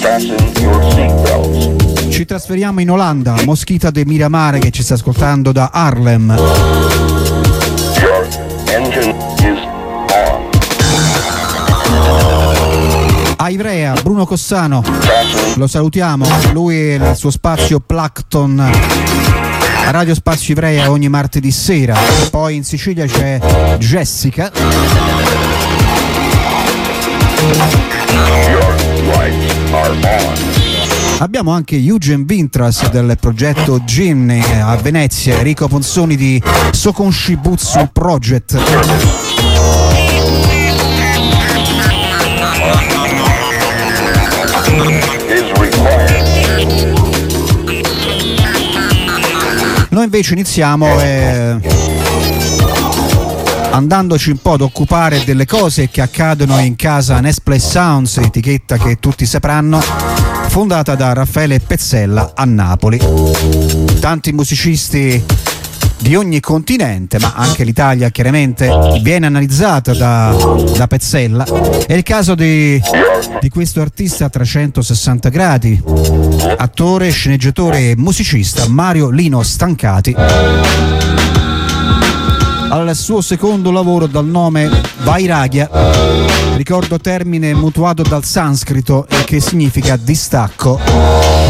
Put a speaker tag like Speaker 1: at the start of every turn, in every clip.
Speaker 1: Ci trasferiamo in Olanda, Mosquita de Miramare che ci sta ascoltando da Harlem. A Ivrea, Bruno Cossano, lo salutiamo, lui e il suo spazio Plankton a Radio Spazio Ivrea ogni martedì sera. Poi in Sicilia c'è Jessica. Abbiamo anche Eugen Vintras del progetto Gimni a Venezia, Enrico Ponzoni di Sokonshibutsu Project. Noi invece iniziamo andandoci un po' ad occupare delle cose che accadono in casa Nesplay Sounds, etichetta che tutti sapranno, fondata da Raffaele Pezzella a Napoli. Tanti musicisti di ogni continente, ma anche l'Italia chiaramente viene analizzata da Pezzella. È il caso di questo artista a 360 gradi, attore, sceneggiatore e musicista Mario Lino Stancati. Al suo secondo lavoro dal nome Vairagya, ricordo termine mutuato dal sanscrito e che significa distacco.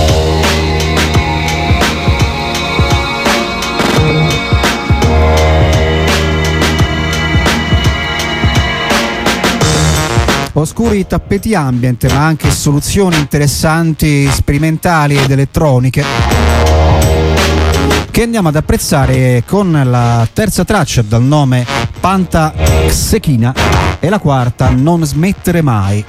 Speaker 1: Oscuri tappeti ambient, ma anche soluzioni interessanti, sperimentali ed elettroniche, che andiamo ad apprezzare con la terza traccia dal nome Panta Xechina e la quarta Non smettere mai.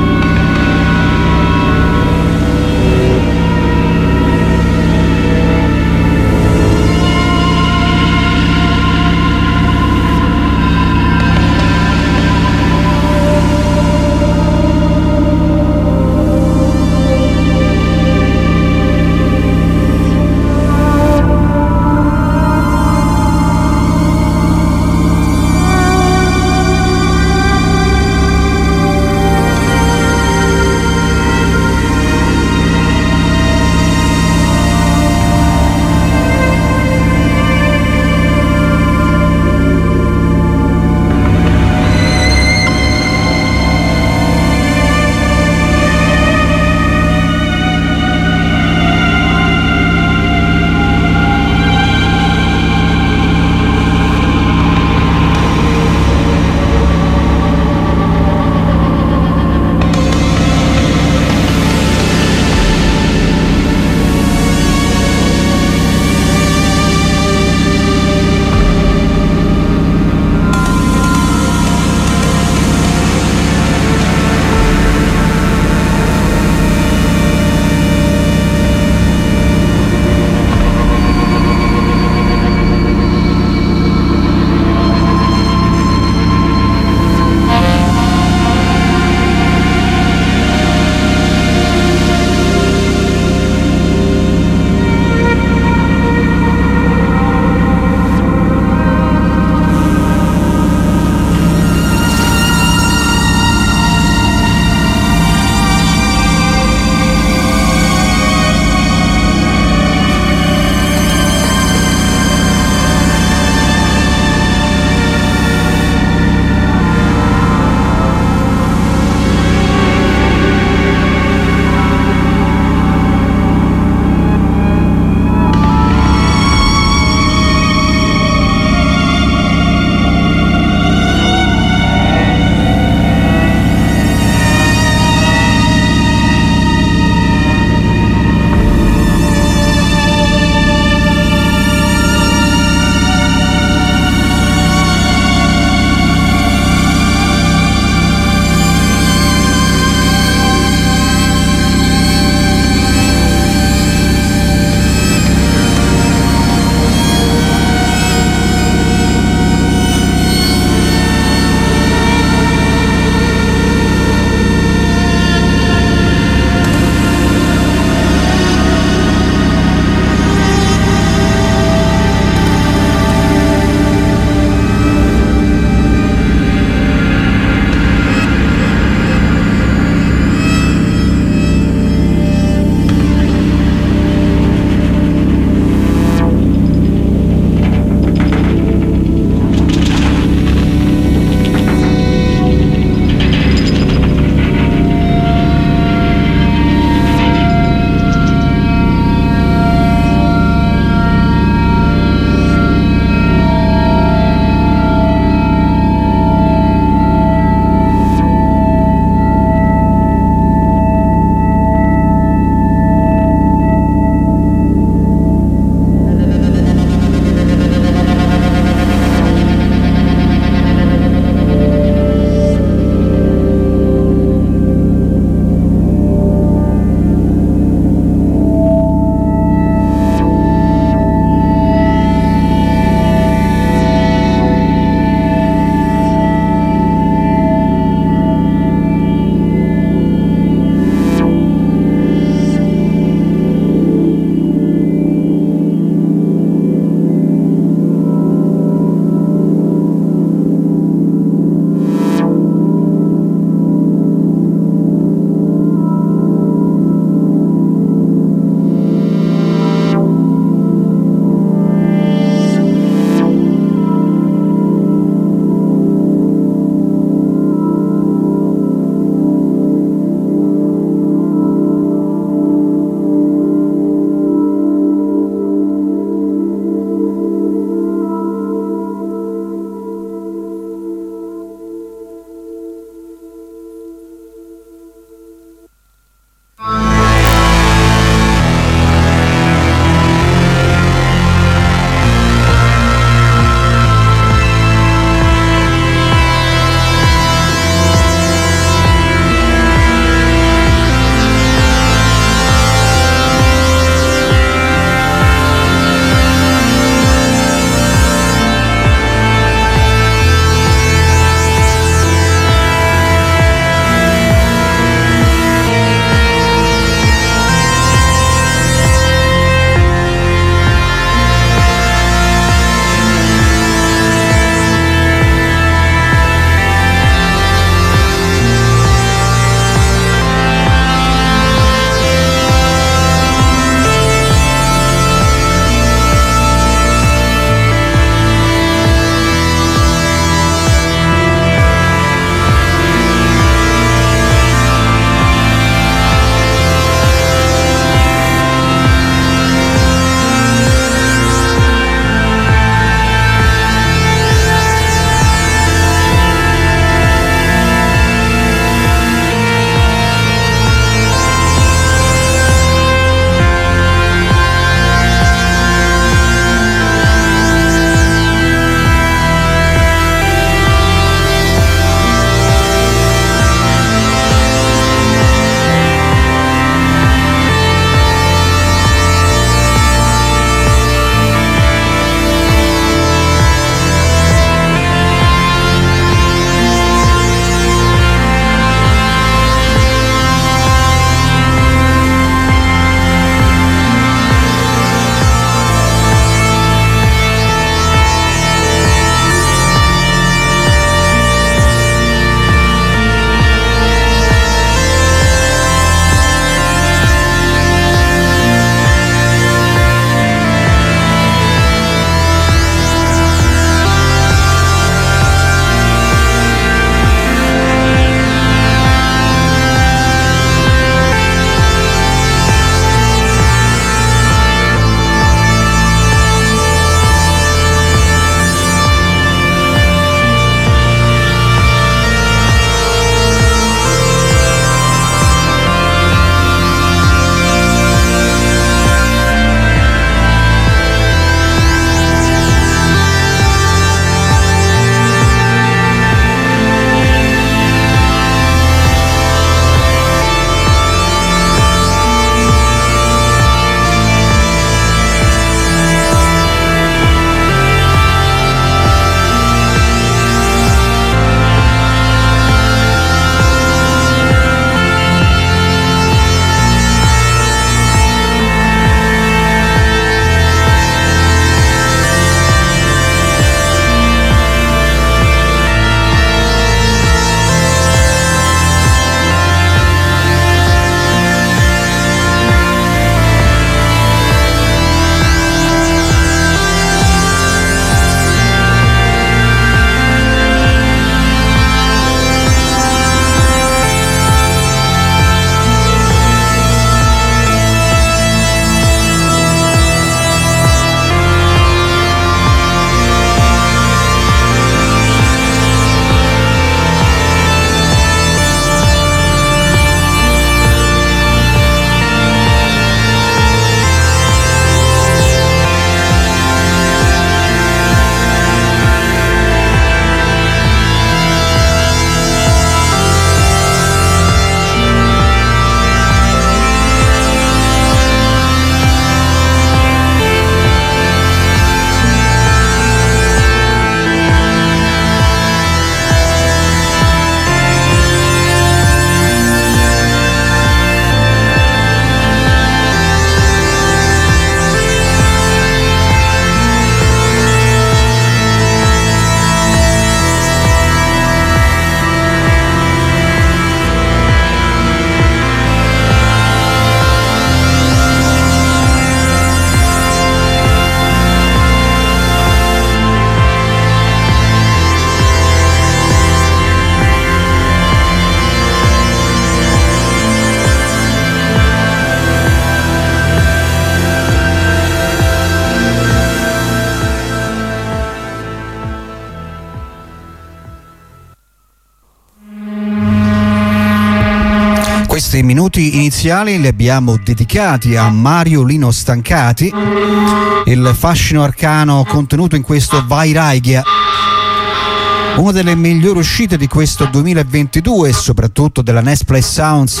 Speaker 1: minuti iniziali li abbiamo dedicati a Mario Lino Stancati, il fascino arcano contenuto in questo Vairagya, una delle migliori uscite di questo 2022 e soprattutto della Next Play Sounds.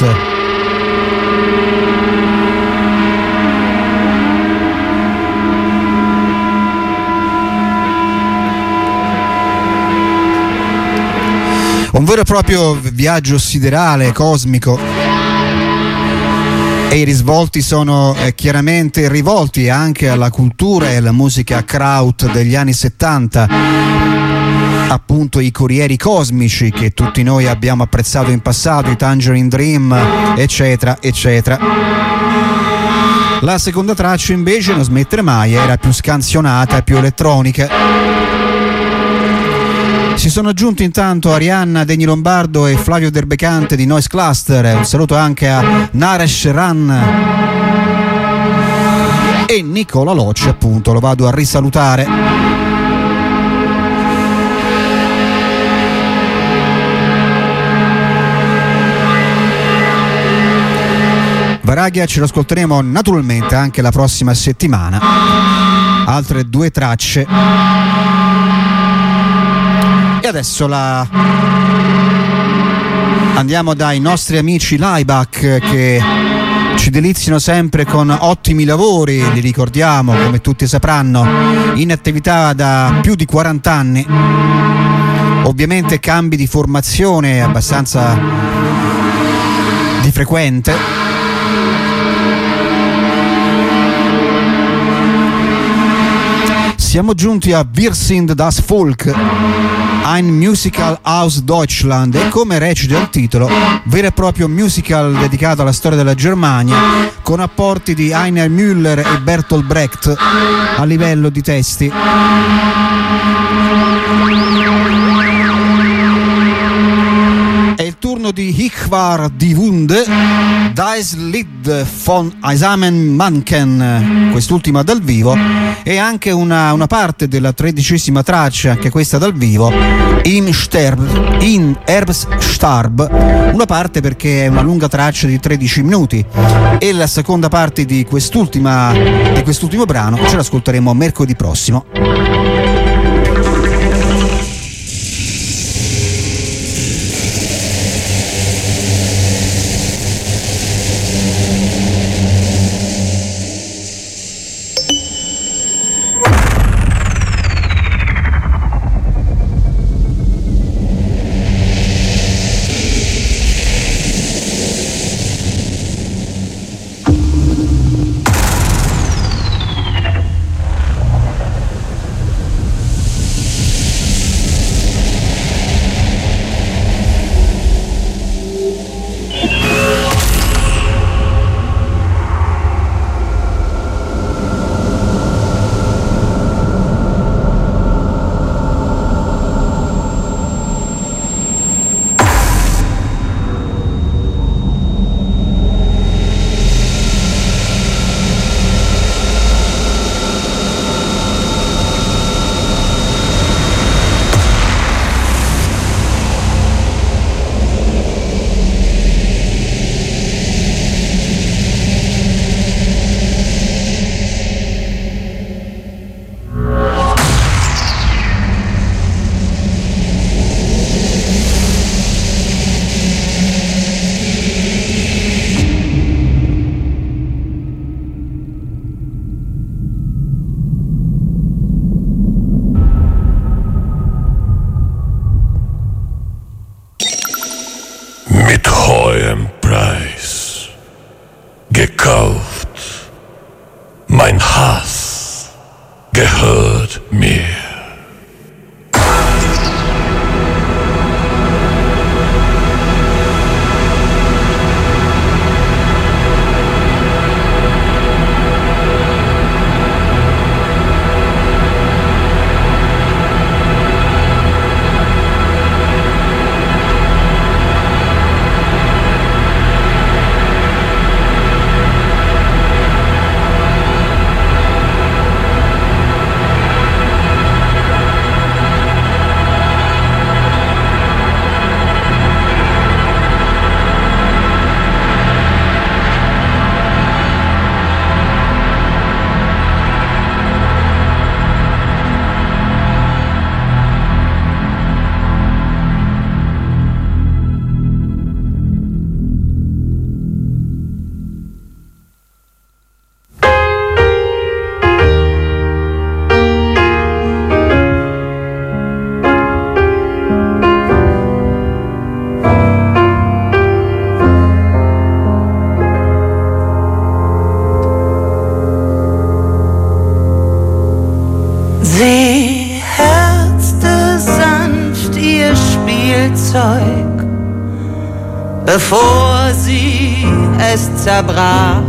Speaker 1: Un vero e proprio viaggio siderale, cosmico, e i risvolti sono chiaramente rivolti anche alla cultura e alla musica kraut degli anni 70, appunto i corrieri cosmici che tutti noi abbiamo apprezzato in passato, i Tangerine Dream, eccetera, eccetera. La seconda traccia invece, Non smettere mai, era più scansionata e più elettronica. Si sono aggiunti intanto Arianna Degni Lombardo e Flavio Derbecante di Noise Cluster. Un saluto anche a Naresh Ran e Nicola Locci, appunto, lo vado a risalutare. Vairagya ce lo ascolteremo naturalmente anche la prossima settimana. Altre due tracce. E adesso andiamo dai nostri amici Laibach, che ci deliziano sempre con ottimi lavori, li ricordiamo come tutti sapranno, in attività da più di 40 anni, ovviamente cambi di formazione abbastanza di frequente. Siamo giunti a Wir sind das Volk, ein Musical aus Deutschland, e come recita il titolo, vero e proprio musical dedicato alla storia della Germania, con apporti di Heiner Müller e Bertolt Brecht a livello di testi. È il turno di Ich war die Wunde, Das Lied von Eisamen Manken, quest'ultima dal vivo, e anche una parte della 13ª traccia, anche questa dal vivo, in Herbststarb, una parte perché è una lunga traccia di 13 minuti, e la seconda parte di quest'ultimo brano ce l'ascolteremo mercoledì prossimo.
Speaker 2: bevor sie es zerbrach,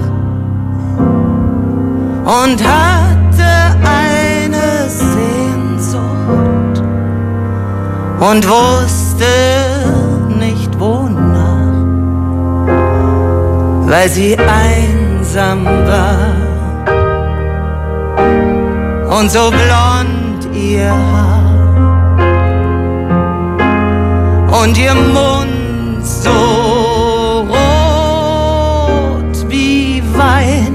Speaker 2: und hatte eine Sehnsucht und wusste nicht wonach, weil sie einsam war und so blond ihr Haar und ihr Mund so rot wie Wein.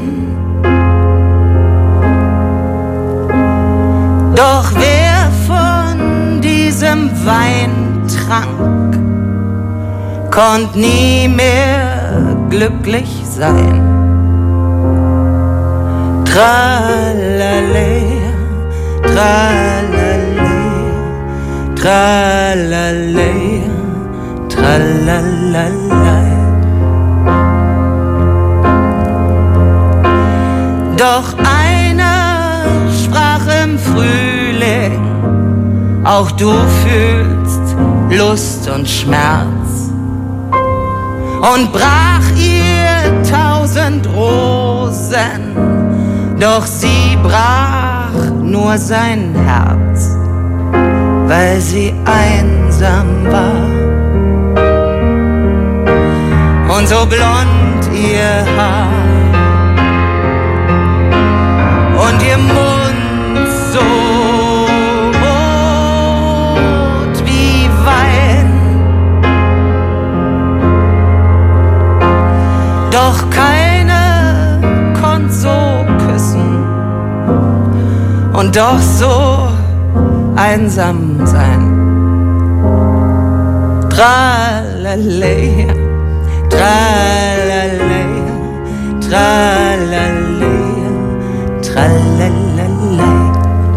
Speaker 2: Doch wer von diesem Wein trank, konnt nie mehr glücklich sein. Tralalea, tralalea, tralalea, tralalala. Doch einer sprach im Frühling, auch du fühlst Lust und Schmerz, und brach ihr 1000 Rosen, doch sie brach nur sein Herz, weil sie einsam war und so blond ihr Haar und ihr Mund so rot wie Wein. Doch keine konnt so küssen und doch so einsam sein. Tralalea, tralalea, tralalea, tralalala.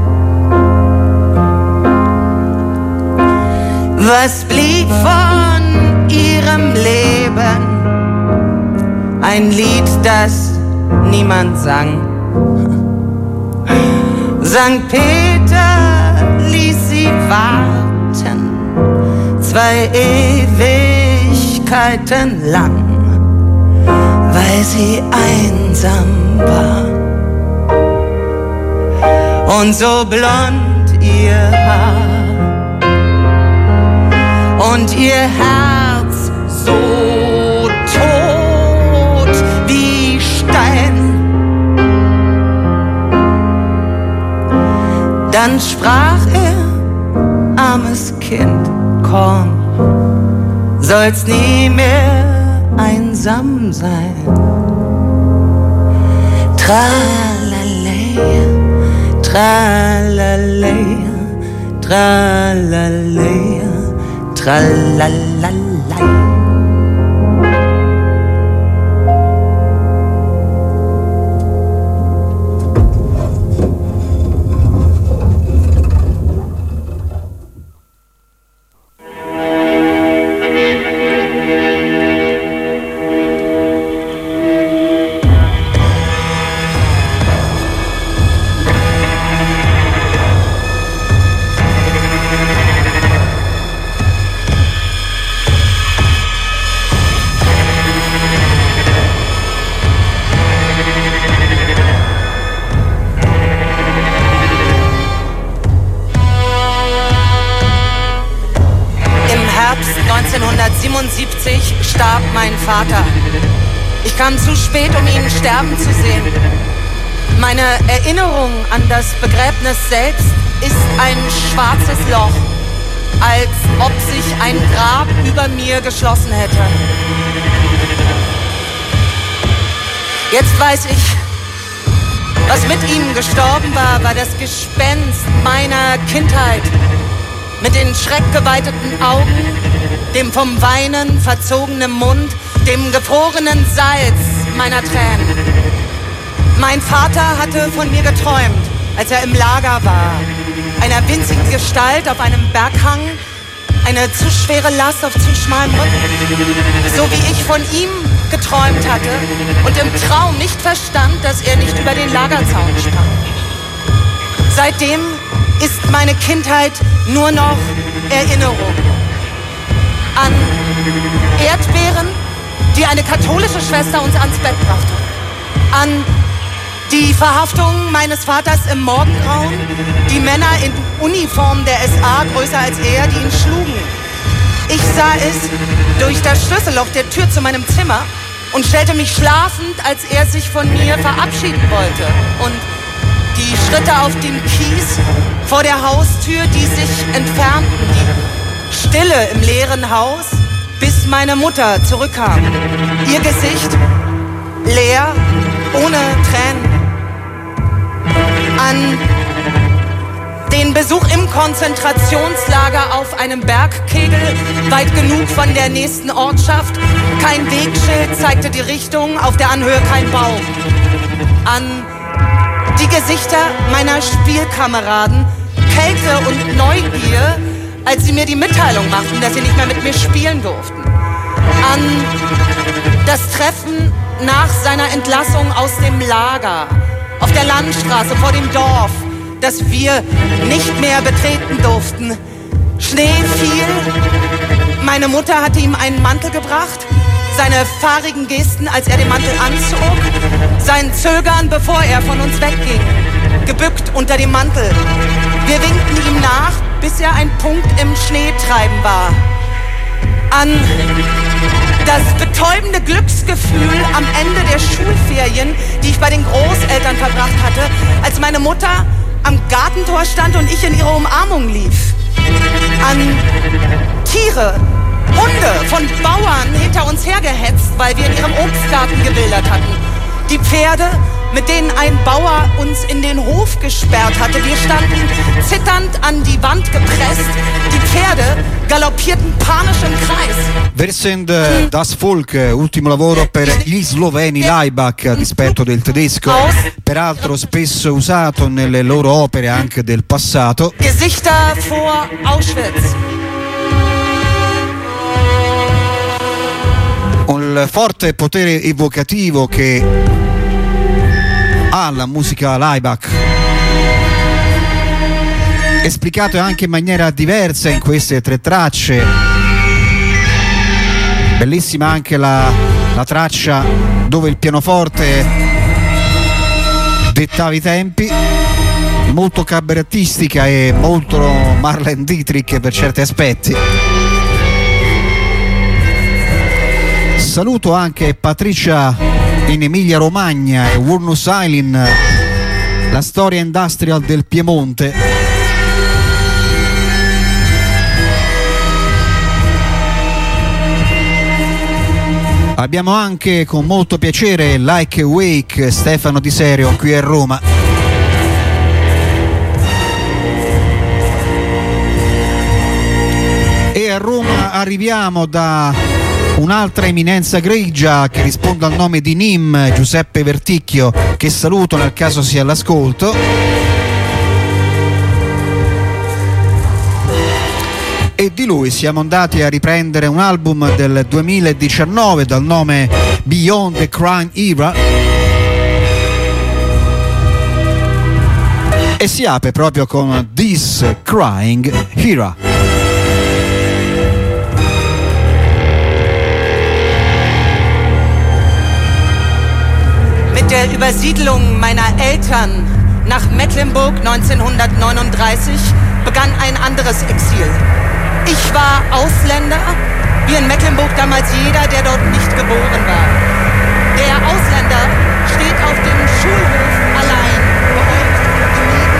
Speaker 2: Was blieb von ihrem Leben? Ein Lied, das niemand sang. Sankt Peter ließ sie warten, 2 Ewigkeiten lang, weil sie einsam war und so blond ihr Haar und ihr Herz so tot wie Stein. Dann sprach er: armes Kind, komm, sollst nie mehr einsam sein. Tralalea, tralalea, tralalea, tralalala. Herbst 1977 starb mein Vater. Ich kam zu spät, um ihn sterben zu sehen. Meine Erinnerung an das Begräbnis selbst ist ein schwarzes Loch, als ob sich ein Grab über mir geschlossen hätte. Jetzt weiß ich, was mit ihm gestorben war, war das Gespenst meiner Kindheit. Mit den schreckgeweiteten Augen, dem vom Weinen verzogenen Mund, dem gefrorenen Salz meiner Tränen. Mein Vater hatte von mir geträumt, als er im Lager war. Einer winzigen Gestalt auf einem Berghang, eine zu schwere Last auf zu schmalem Rücken. So wie ich von ihm geträumt hatte und im Traum nicht verstand, dass er nicht über den Lagerzaun sprang. Seitdem ist meine Kindheit nur noch Erinnerung an Erdbeeren die eine katholische Schwester uns ans Bett brachte. An die Verhaftung meines Vaters im Morgengrauen, die Männer in Uniform der SA, größer als er, die ihn schlugen. Ich sah es durch das Schlüsselloch der Tür zu meinem Zimmer und stellte mich schlafend, als er sich von mir verabschieden wollte. Und die Schritte auf dem Kies vor der Haustür, die sich entfernten, die Stille im leeren Haus, bis meine Mutter zurückkam. Ihr Gesicht leer, ohne Tränen. An den Besuch im Konzentrationslager auf einem Bergkegel, weit genug von der nächsten Ortschaft. Kein Wegschild zeigte die Richtung, auf der Anhöhe kein Baum. An die Gesichter meiner Spielkameraden, Kälte und Neugier, als sie mir die Mitteilung machten, dass sie nicht mehr mit mir spielen durften. An das Treffen nach seiner Entlassung aus dem Lager, auf der Landstraße vor dem Dorf, das wir nicht mehr betreten durften. Schnee fiel, meine Mutter hatte ihm einen Mantel gebracht, seine fahrigen Gesten, als er den Mantel anzog, sein Zögern, bevor er von uns wegging, gebückt unter dem Mantel. Wir winkten ihm nach, bis er ein Punkt im Schneetreiben war. An das betäubende Glücksgefühl am Ende der Schulferien, die ich bei den Großeltern verbracht hatte, als meine Mutter am Gartentor stand und ich in ihre Umarmung lief. An Tiere, Hunde von Bauern hinter uns hergehetzt, weil wir in ihrem Obstgarten gewildert hatten. Die Pferde, mit denen ein Bauer uns in den Hof gesperrt hatte. Wir standen zitternd an die Wand gepresst. Die Pferde galoppierten panisch im Kreis.
Speaker 1: Wir sind Das Volk, ultimo lavoro per gli sloveni Laibach a dispetto del tedesco, peraltro spesso usato nelle loro opere anche del passato.
Speaker 2: Gesichter vor Auschwitz.
Speaker 1: Un forte potere evocativo che ha la musica Laibach, esplicato anche in maniera diversa in queste 3 tracce. Bellissima anche la traccia dove il pianoforte dettava i tempi, molto cabarettistica e molto Marlene Dietrich per certi aspetti. Saluto anche Patricia in Emilia Romagna e Wurnus Island, la storia industrial del Piemonte. Abbiamo anche con molto piacere Like a Wake, Stefano Di Serio qui a Roma. E a Roma arriviamo da un'altra eminenza grigia che risponde al nome di Nim, Giuseppe Verticchio, che saluto nel caso sia all'ascolto. E di lui siamo andati a riprendere un album del 2019 dal nome Beyond the Crime Era e si apre proprio con This Crying Era.
Speaker 2: Mit der Übersiedlung meiner Eltern nach Mecklenburg 1939 begann ein anderes Exil. Ich war Ausländer, wie in Mecklenburg damals jeder, der dort nicht geboren war. Der Ausländer steht auf dem Schulhof allein, beäugt, gemieden,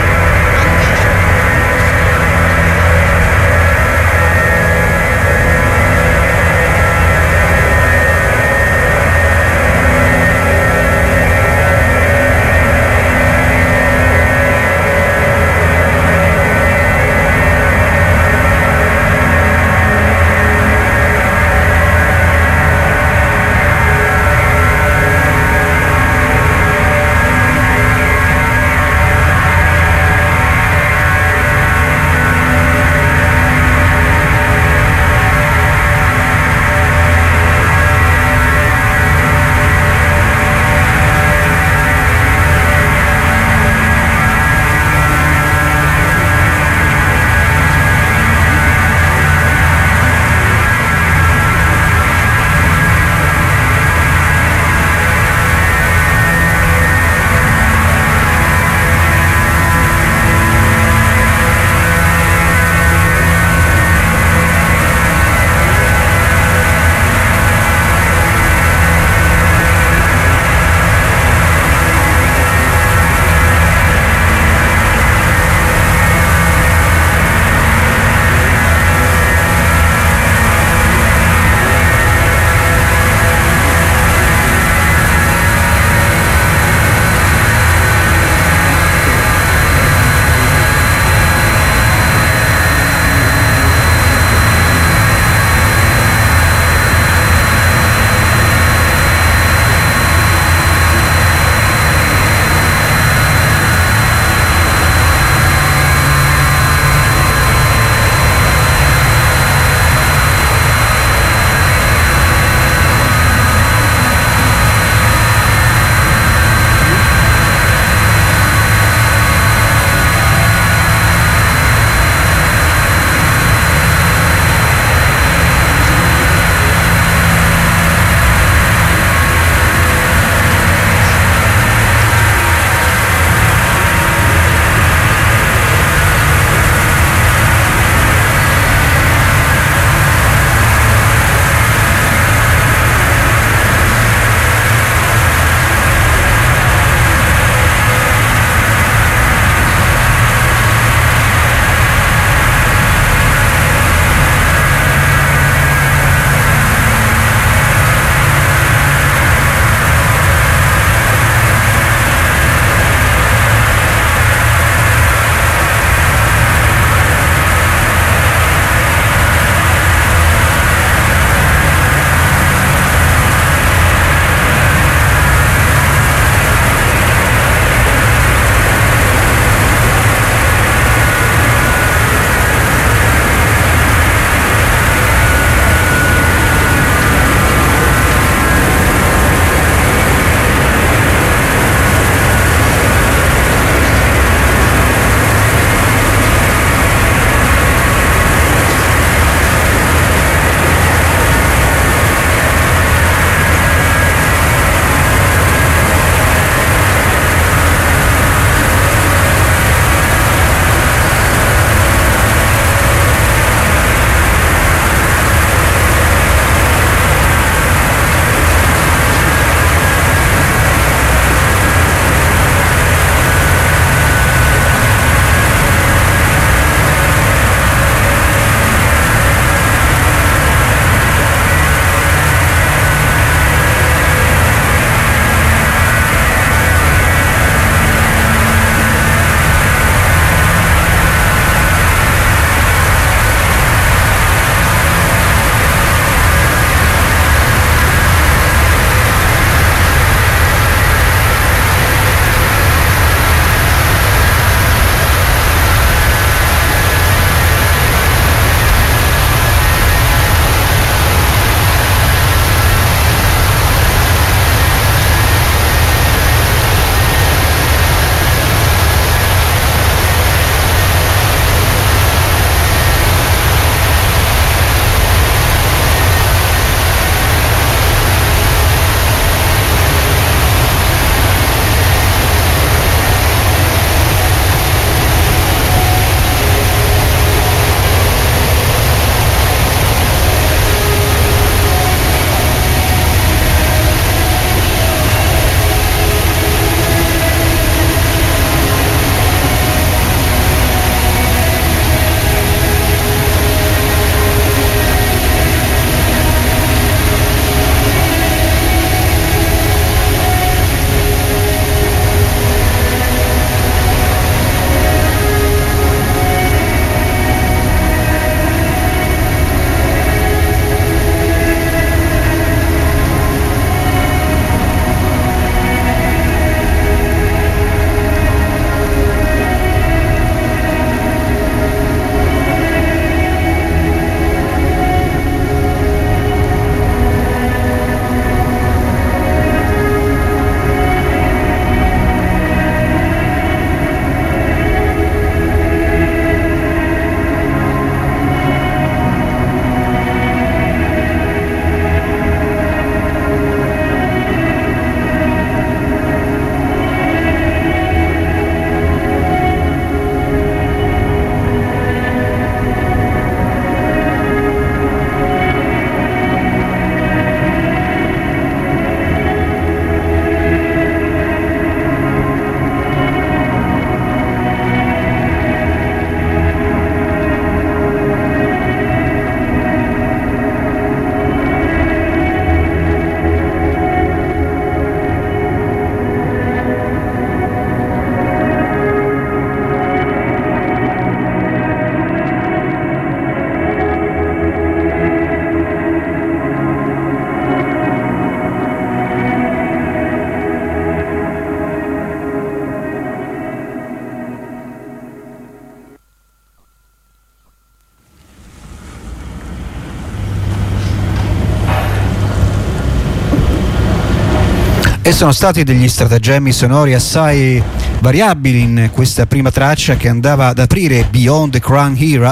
Speaker 1: E sono stati degli stratagemmi sonori assai variabili in questa prima traccia che andava ad aprire Beyond the Crown Era.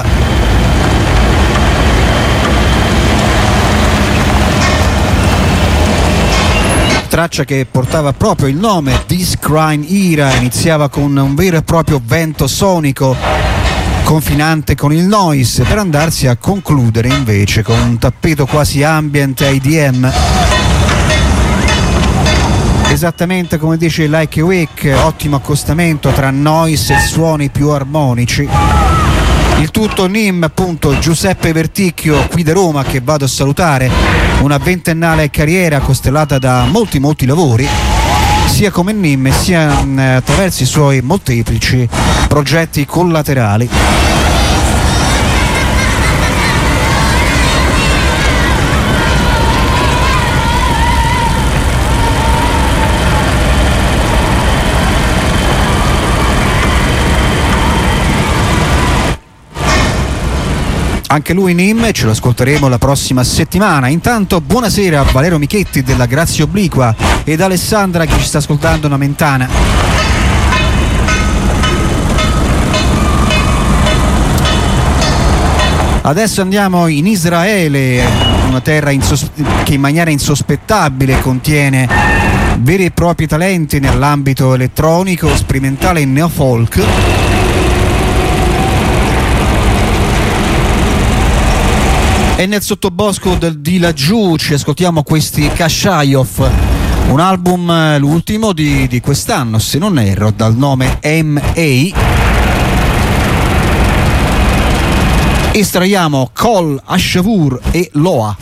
Speaker 1: Traccia che portava proprio il nome This Crown Era, iniziava con un vero e proprio vento sonico confinante con il noise per andarsi a concludere invece con un tappeto quasi ambient IDM. Esattamente come dice Like Awake, ottimo accostamento tra noise e suoni più armonici. Il tutto NIM, appunto, Giuseppe Verticchio qui da Roma, che vado a salutare, una ventennale carriera costellata da molti lavori, sia come NIM sia attraverso i suoi molteplici progetti collaterali. Anche lui NIM, ce lo ascolteremo la prossima settimana. Intanto buonasera a Valerio Michetti della Grazia Obliqua ed Alessandra che ci sta ascoltando una mentana. Adesso andiamo in Israele, una terra che in maniera insospettabile contiene veri e propri talenti nell'ambito elettronico, sperimentale e neofolk. E nel sottobosco di laggiù ci ascoltiamo questi Kashayov, un album, l'ultimo di quest'anno se non erro, dal nome M.A. Estraiamo Kol Ashavur e Loa.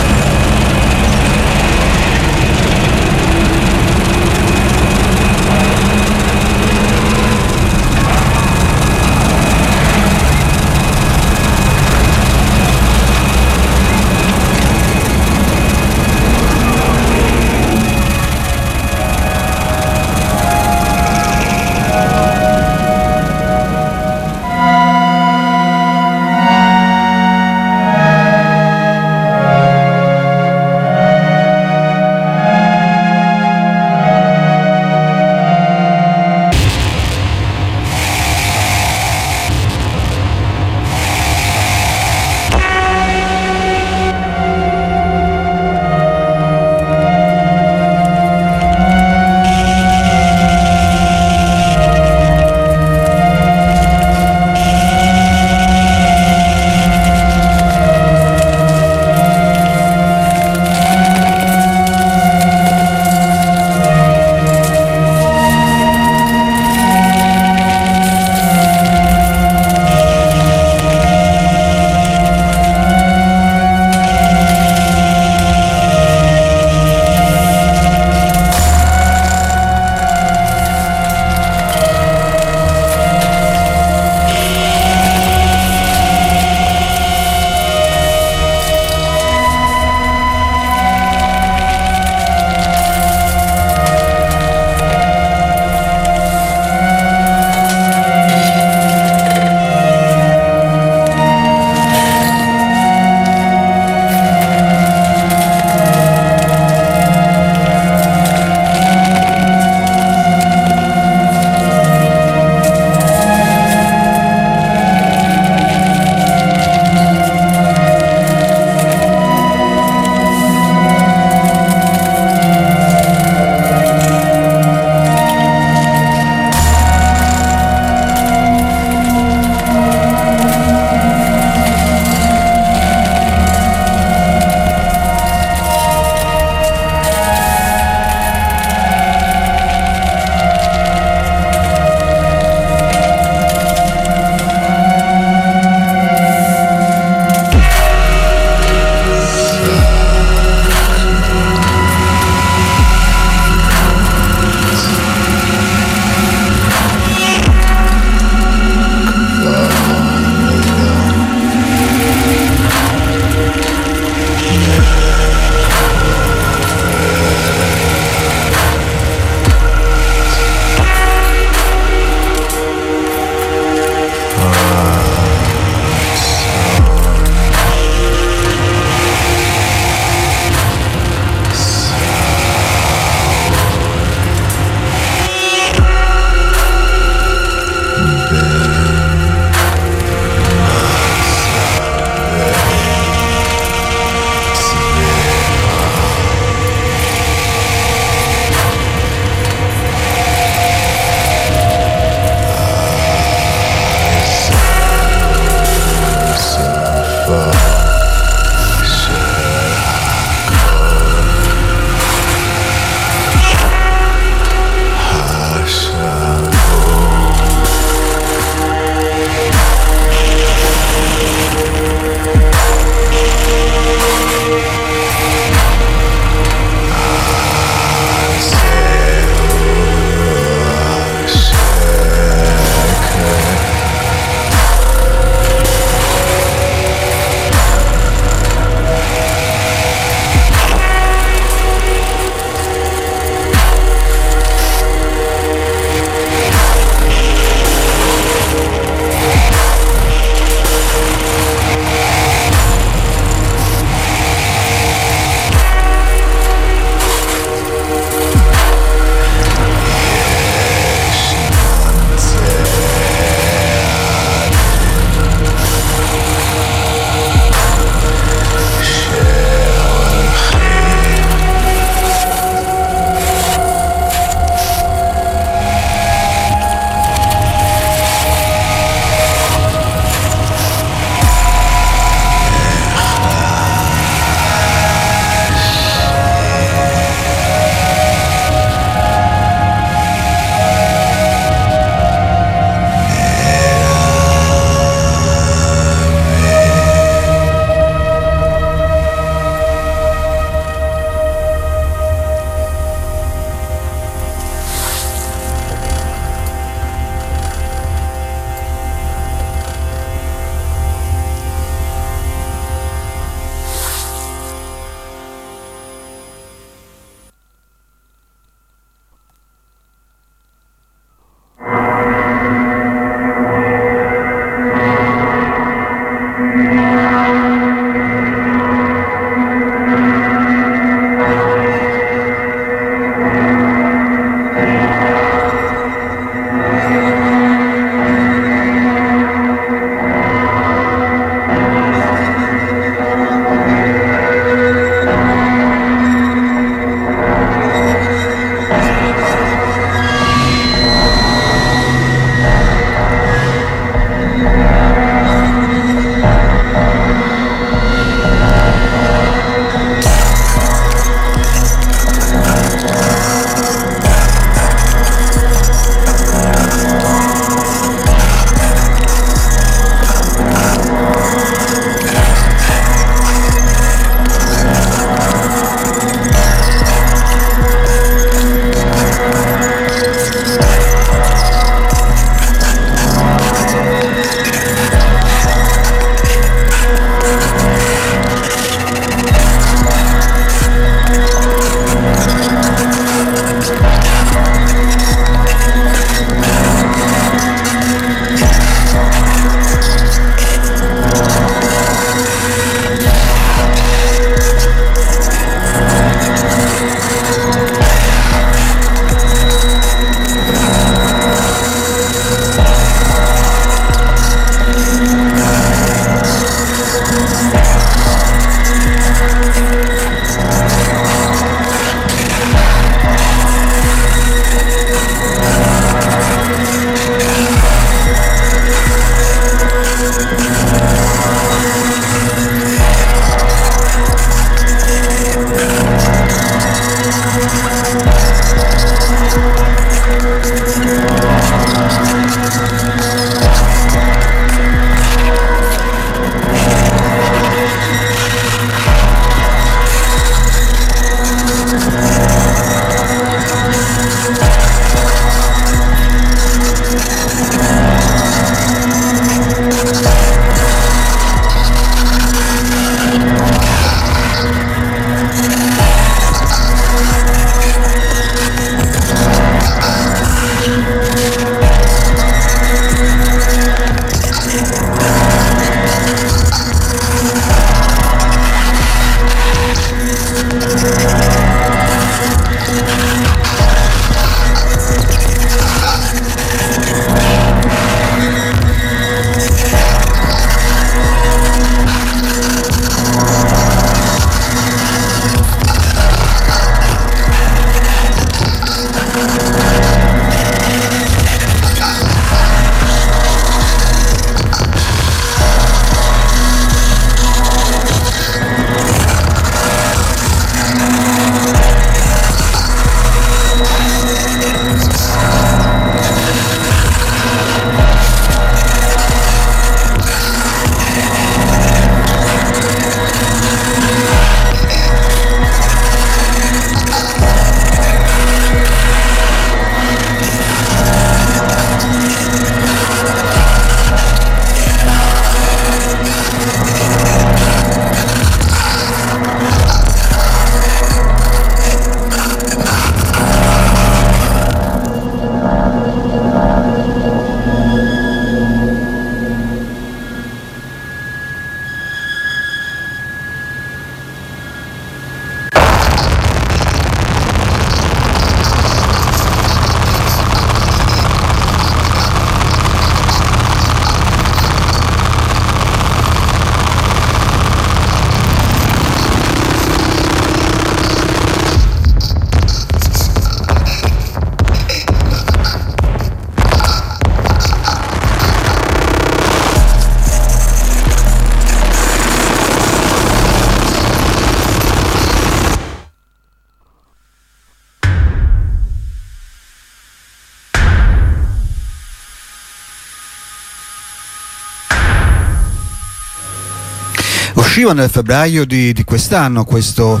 Speaker 1: Usciva nel febbraio di quest'anno questo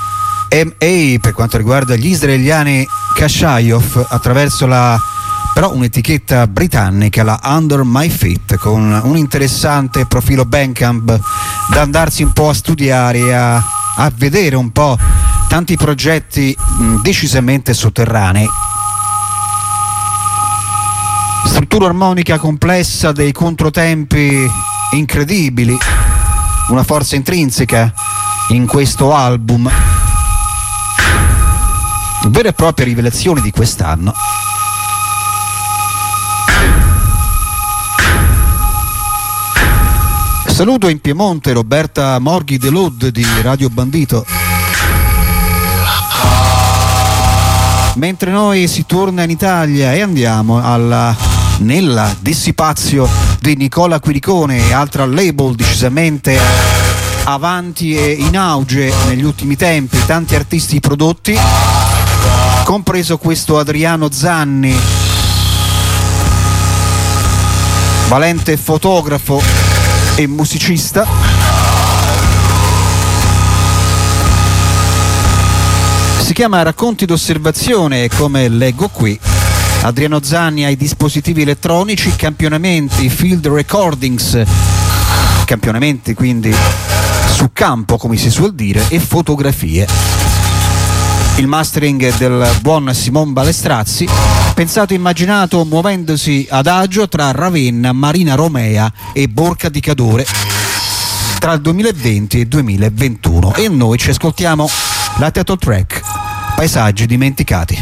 Speaker 1: MA per quanto riguarda gli israeliani Kashayov attraverso però un'etichetta britannica, la Under My Feet, con un interessante profilo Bandcamp da andarsi un po' a studiare e a vedere un po' tanti progetti decisamente sotterranei. Struttura armonica complessa, dei controtempi incredibili, una forza intrinseca in questo album, vere e proprie rivelazioni di quest'anno. Saluto in Piemonte Roberta Morghi De Lod di Radio Bandito. Mentre noi si torna in Italia e andiamo nella Dissipazio di Nicola Quiricone, altra label decisamente avanti e in auge negli ultimi tempi, tanti artisti prodotti, compreso questo Adriano Zanni, valente fotografo e musicista. Si chiama Racconti d'osservazione e, come leggo qui, Adriano Zanni ai dispositivi elettronici, campionamenti, field recordings, campionamenti quindi su campo come si suol dire, e fotografie. Il mastering del buon Simon Balestrazzi, pensato e immaginato muovendosi ad agio tra Ravenna, Marina Romea e Borca di Cadore tra il 2020 e il 2021. E noi ci ascoltiamo la title track Paesaggi dimenticati.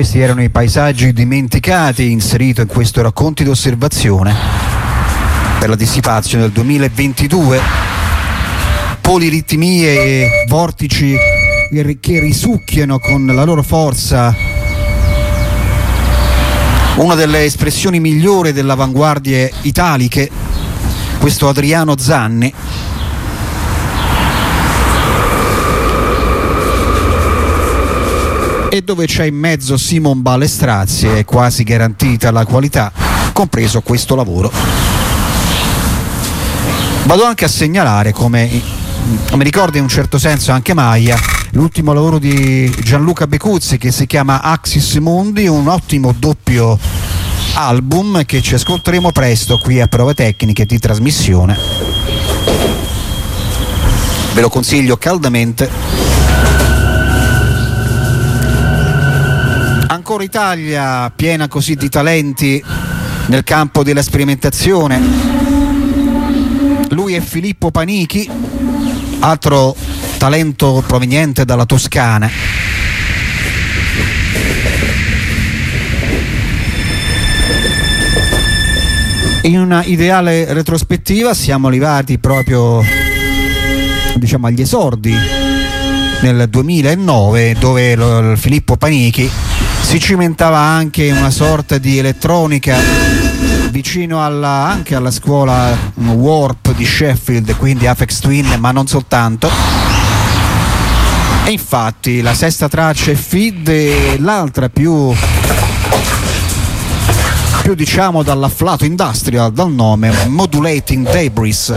Speaker 1: Questi erano i paesaggi dimenticati inserito in questo racconti d'osservazione per la Dissipazio del 2022. Poliritmie e vortici che risucchiano con la loro forza una delle espressioni migliori delle avanguardie italiche, questo Adriano Zanni. E dove c'è in mezzo Simon Balestrazzi è quasi garantita la qualità, compreso questo lavoro. Vado anche a segnalare, come mi ricorda in un certo senso anche Maia, l'ultimo lavoro di Gianluca Becuzzi che si chiama Axis Mundi, un ottimo doppio album che ci ascolteremo presto qui a Prove Tecniche di trasmissione. Ve lo consiglio caldamente. Ancora Italia, piena così di talenti nel campo della sperimentazione. Lui è Filippo Panichi, altro talento proveniente dalla Toscana. In una ideale retrospettiva siamo arrivati proprio, diciamo, agli esordi nel 2009, dove Filippo Panichi si cimentava anche in una sorta di elettronica vicino anche alla scuola Warp di Sheffield, quindi Aphex Twin, ma non soltanto. E infatti la sesta traccia è Feed e l'altra più diciamo dall'afflato industrial, dal nome Modulating Debris.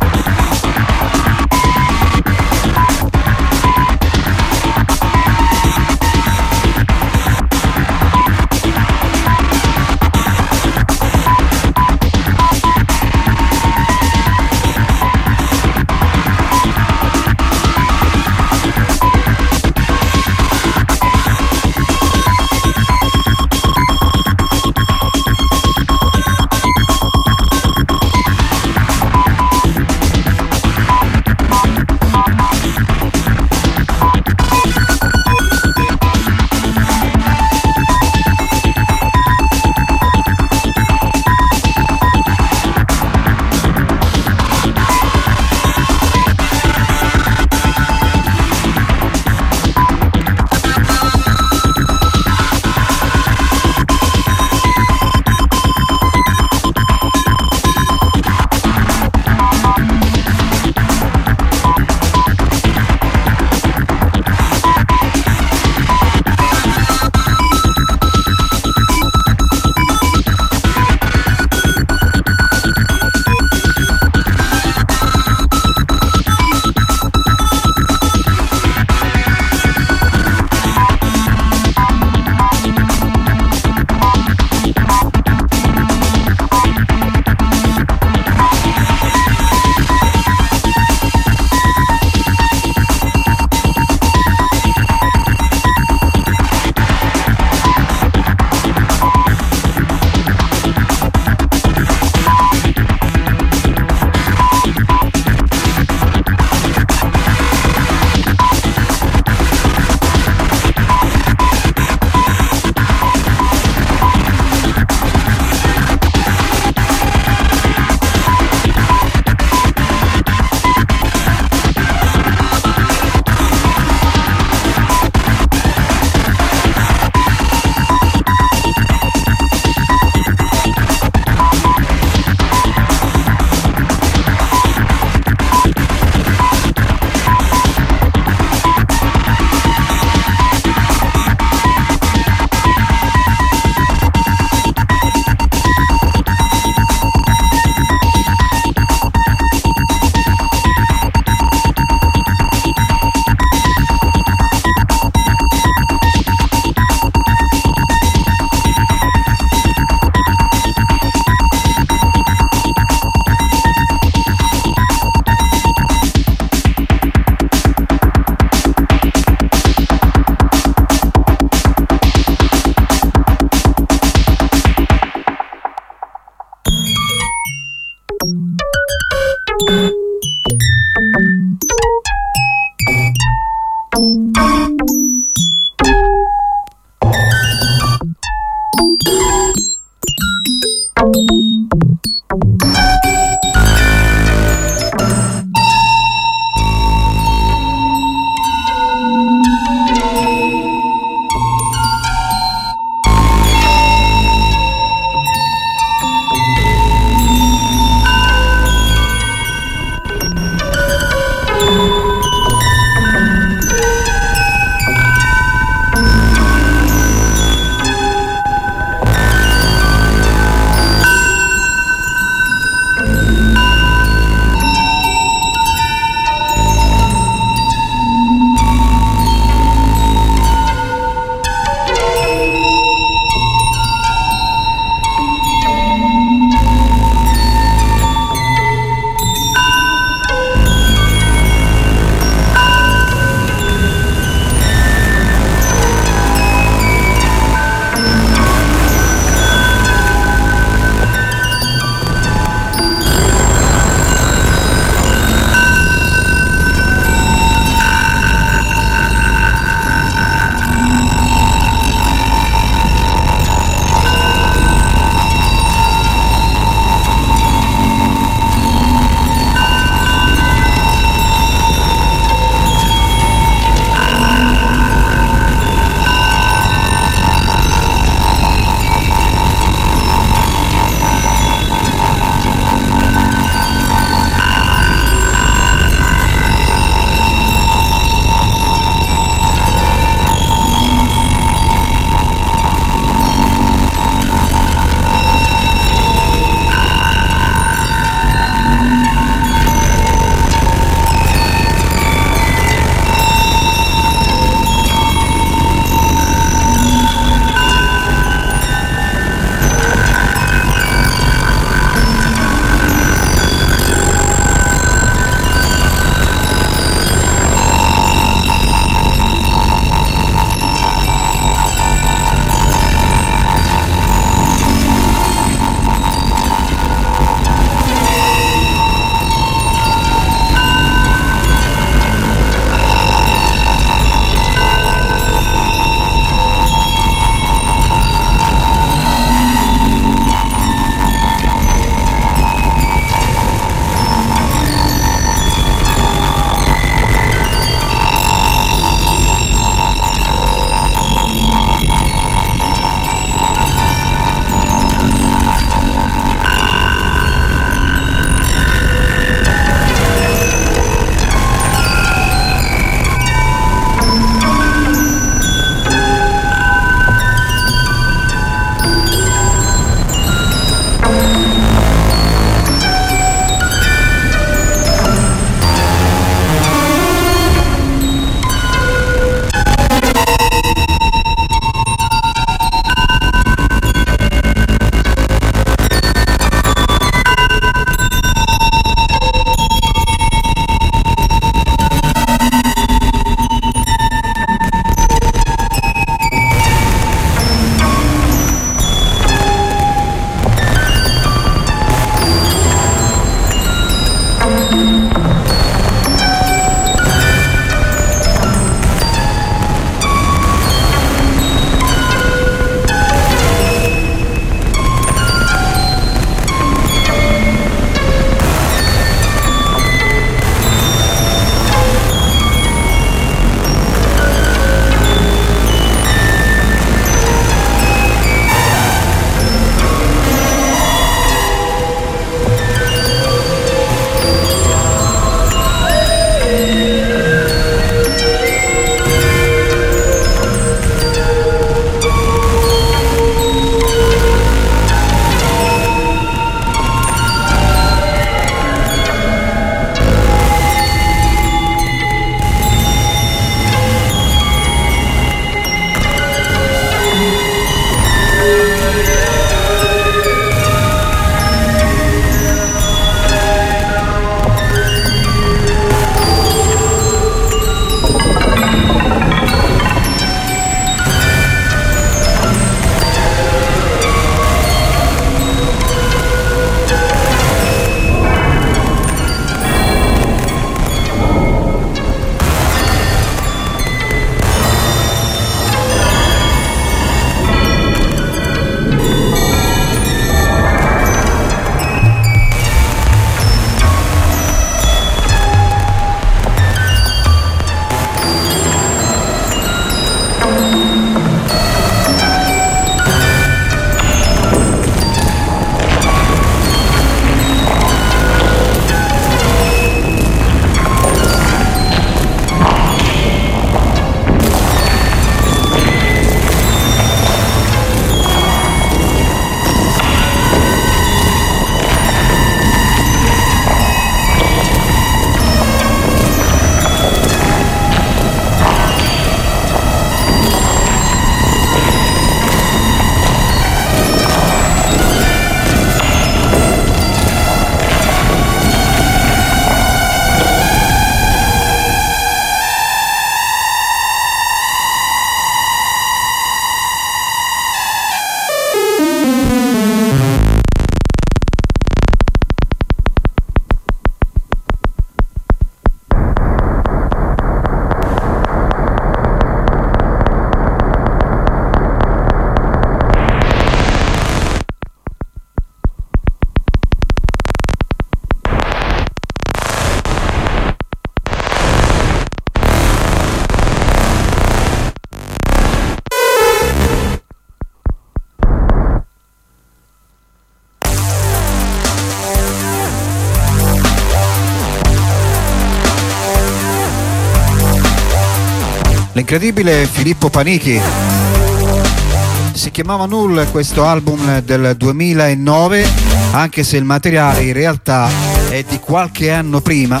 Speaker 1: L'incredibile Filippo Panichi. Si chiamava Null questo album del 2009, anche se il materiale in realtà è di qualche anno prima.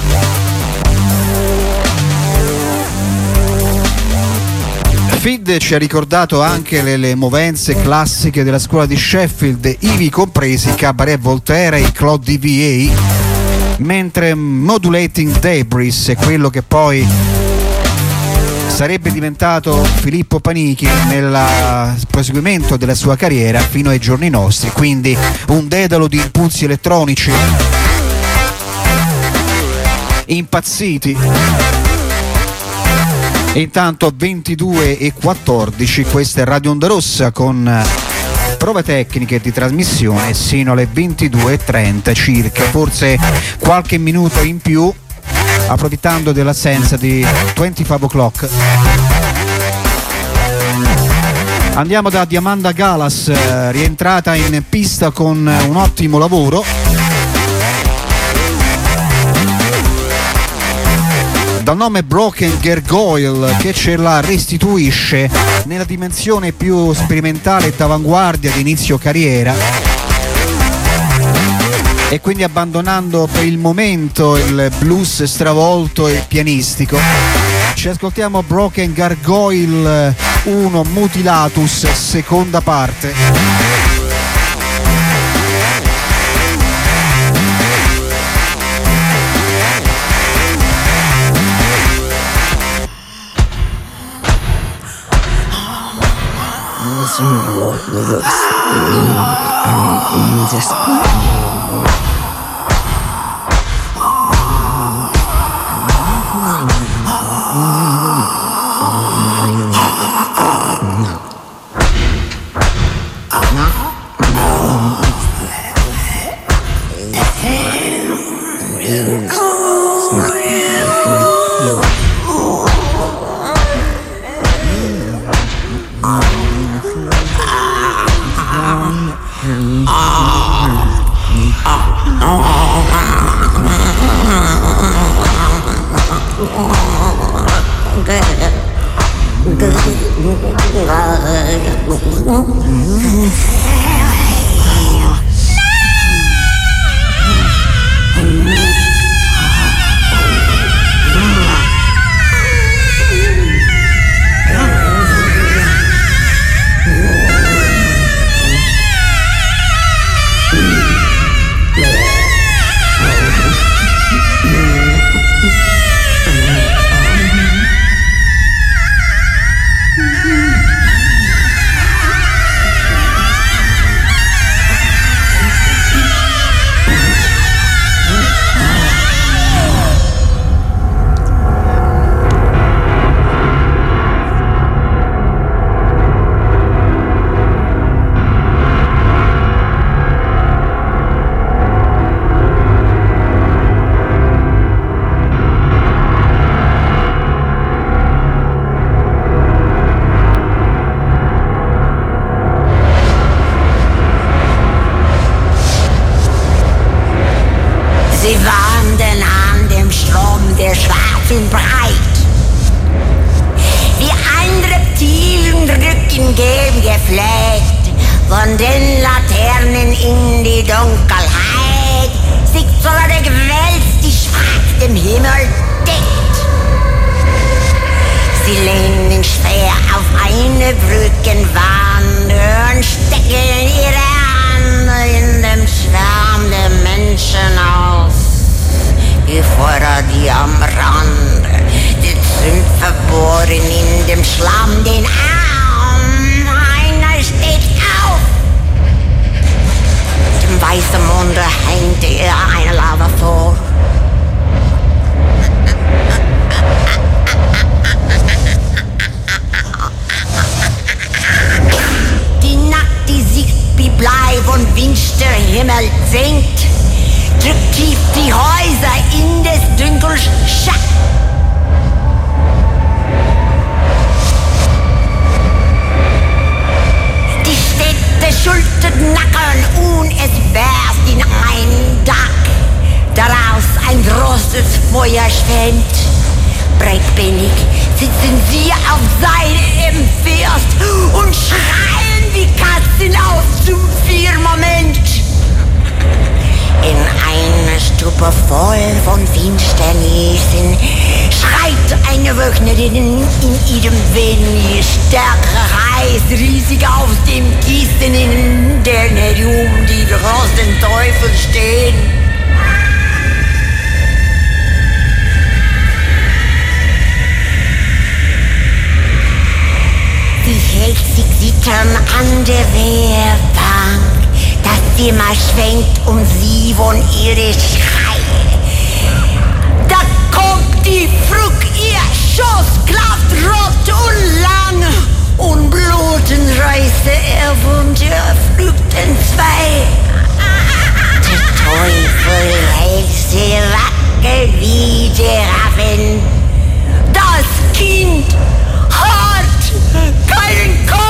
Speaker 1: Fid ci ha ricordato anche le movenze classiche della scuola di Sheffield, ivi compresi Cabaret Voltaire e Claude DVA, mentre Modulating Debris è quello che poi sarebbe diventato Filippo Panichi nel proseguimento della sua carriera fino ai giorni nostri, quindi un dedalo di impulsi elettronici impazziti. Intanto 22:14, questa è Radio Onda Rossa con prove tecniche di trasmissione sino alle 22:30 circa, forse qualche minuto in più approfittando dell'assenza di 25 O'Clock. Andiamo da Diamanda Galas, rientrata in pista con un ottimo lavoro. Dal nome Broken Gargoyle, che ce la restituisce nella dimensione più sperimentale e d'avanguardia di inizio carriera, e quindi abbandonando per il momento il blues stravolto e pianistico. Ci ascoltiamo Broken Gargoyle 1 Mutilatus, seconda parte.
Speaker 3: Feuer schwemmt, breitbeinig sitzen sie auf Seite im First und schreien wie Katzen aus zum Firmament. In einer Stube voll von Finsternissen schreit eine Wöchnerin in ihrem wenig stärkeren Reis riesig aus dem Kissen, in der herum die großen Teufel stehen. Sie hält sich zittern an der Wehrbank. Das Zimmer schwenkt um sie von ihre Schreie. Da kommt die Frucht, ihr Schoss klafft rot und lang. Und Bluten reiße er von der Flucht entzwei. Der Teufel hält sie wackel wie Giraffen. Das Kind hat keinen Kopf.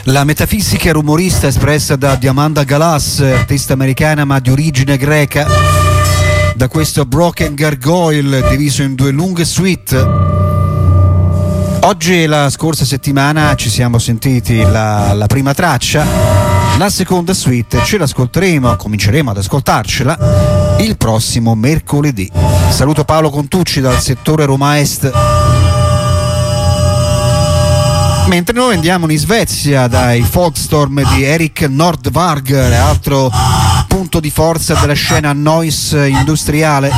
Speaker 1: La metafisica rumorista espressa da Diamanda Galas, artista americana ma di origine greca, da questo Broken Gargoyle diviso in 2 lunghe suite. Oggi e la scorsa settimana ci siamo sentiti la prima traccia, la seconda suite ce l'ascolteremo, cominceremo ad ascoltarcela il prossimo mercoledì. Saluto Paolo Contucci dal settore Roma Est. Mentre noi andiamo in Svezia dai Folkstorm di Erik Nordvarger, altro punto di forza della scena noise industriale.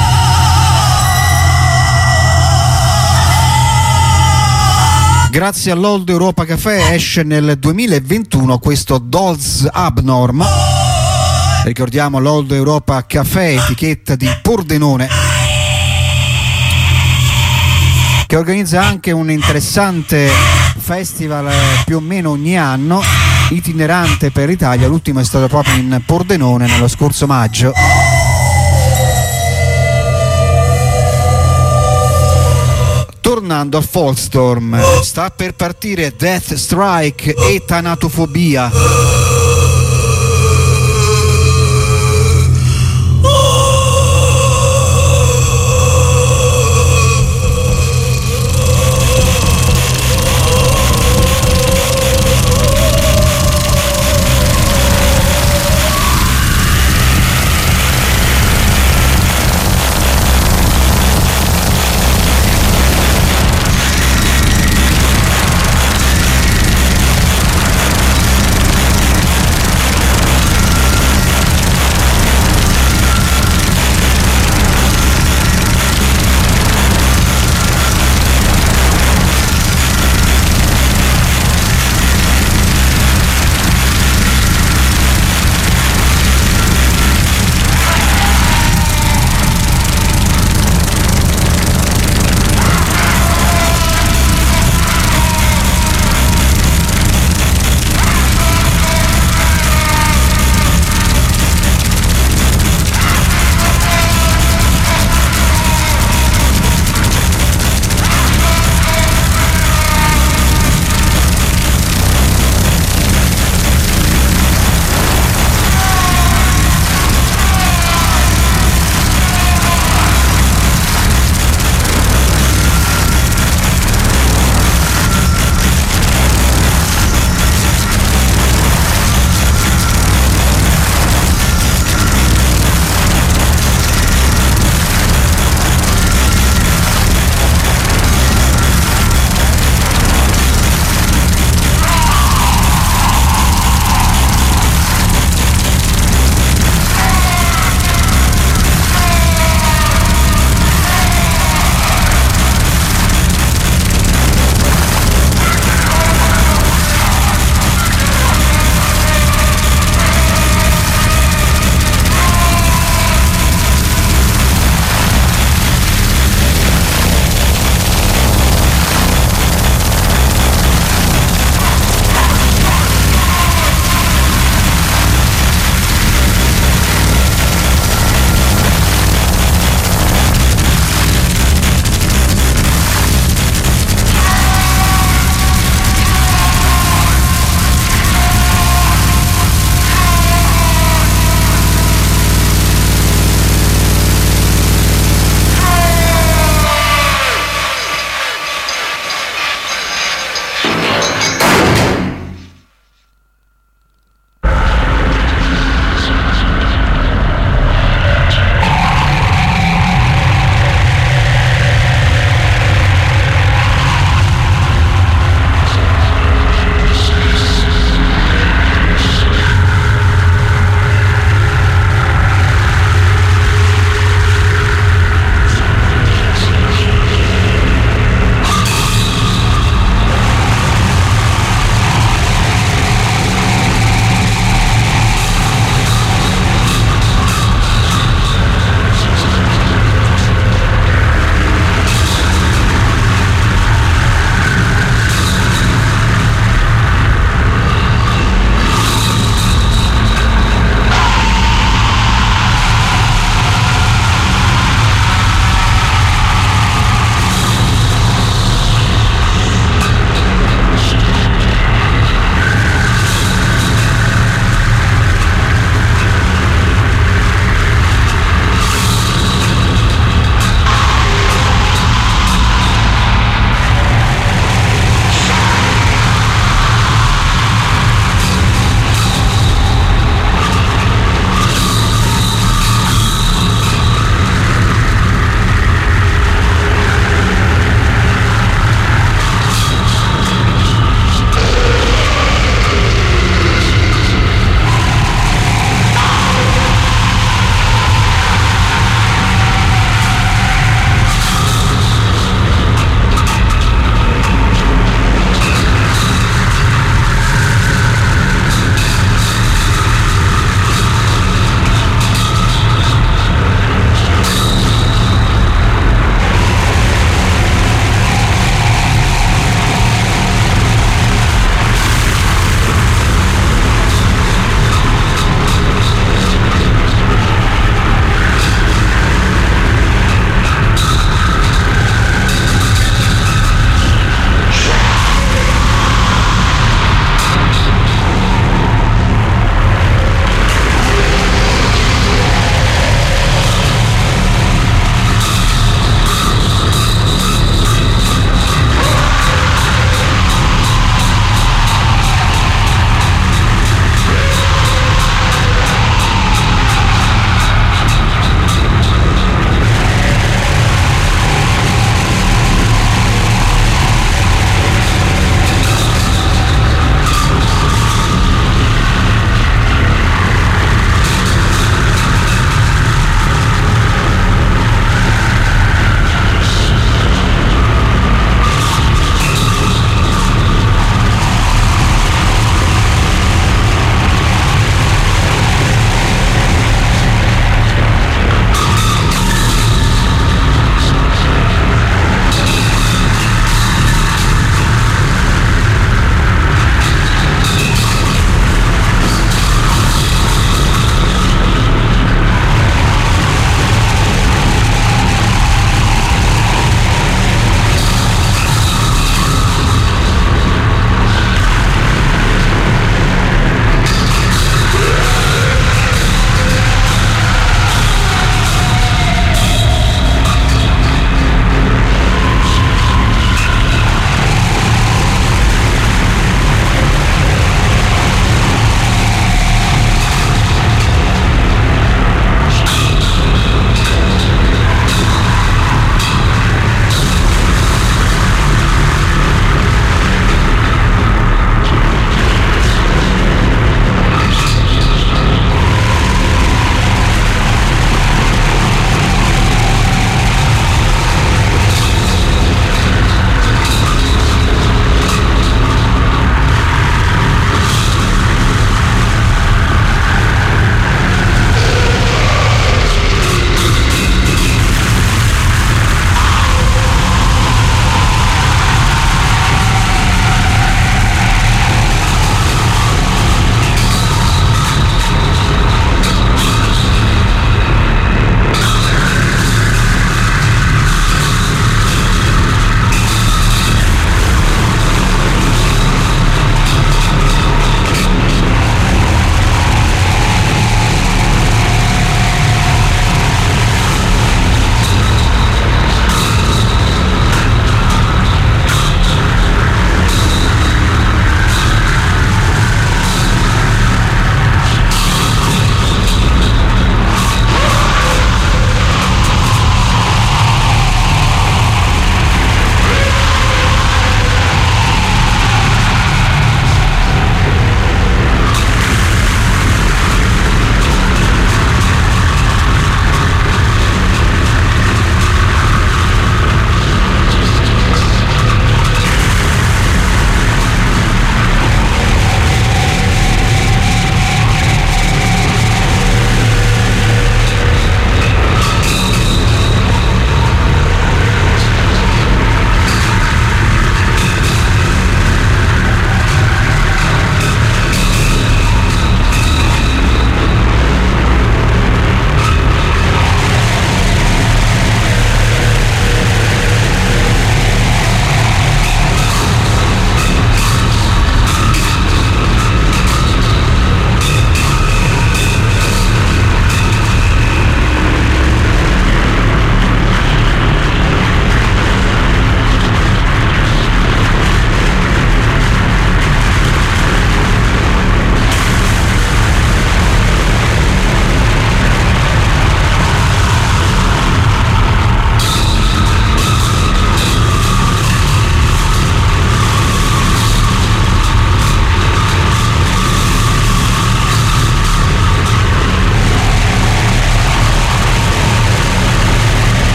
Speaker 1: Grazie all'Old Europa Café esce nel 2021 questo Dolls Abnorm. Ricordiamo l'Old Europa Café, etichetta di Pordenone, che organizza anche un interessante festival più o meno ogni anno, itinerante per l'Italia. L'ultimo è stato proprio in Pordenone nello scorso maggio. Tornando a Folkstorm, sta per partire Death Strike e Tanatofobia.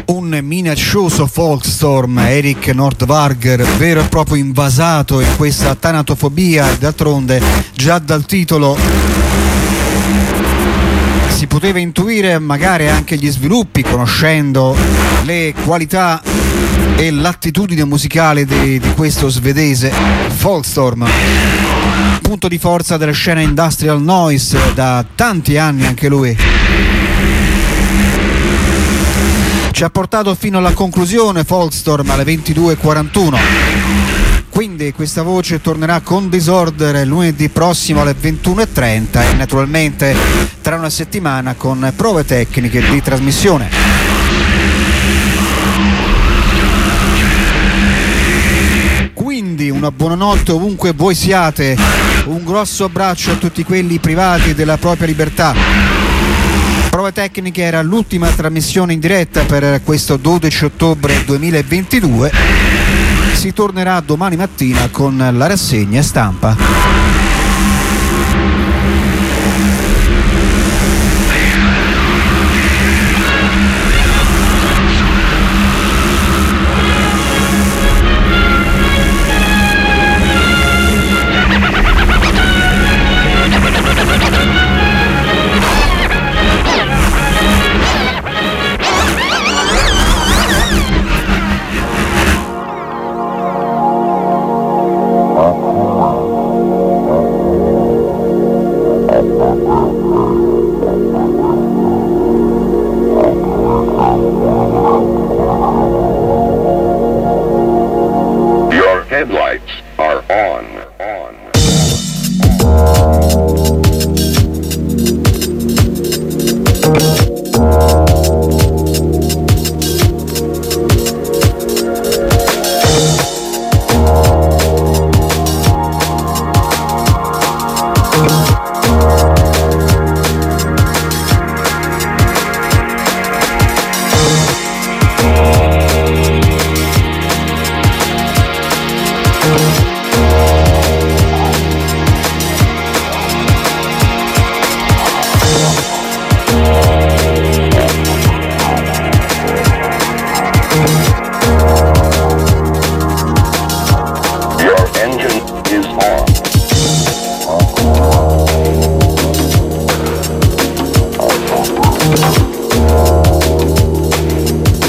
Speaker 1: Un minaccioso Folkstorm, Erik Nordvarger, vero e proprio invasato in questa tanatofobia. D'altronde già dal titolo si poteva intuire magari anche gli sviluppi, conoscendo le qualità e l'attitudine musicale di questo svedese. Folkstorm, punto di forza della scena industrial noise da tanti anni anche lui. Ci ha portato fino alla conclusione Folkstorm alle 22:41. Quindi questa voce tornerà con Disorder lunedì prossimo alle 21:30 e naturalmente tra una settimana con prove tecniche di trasmissione. Quindi una buonanotte ovunque voi siate, un grosso abbraccio a tutti quelli privati della propria libertà. Prove tecniche era l'ultima trasmissione in diretta per questo 12 ottobre 2022. Si tornerà domani mattina con la rassegna stampa.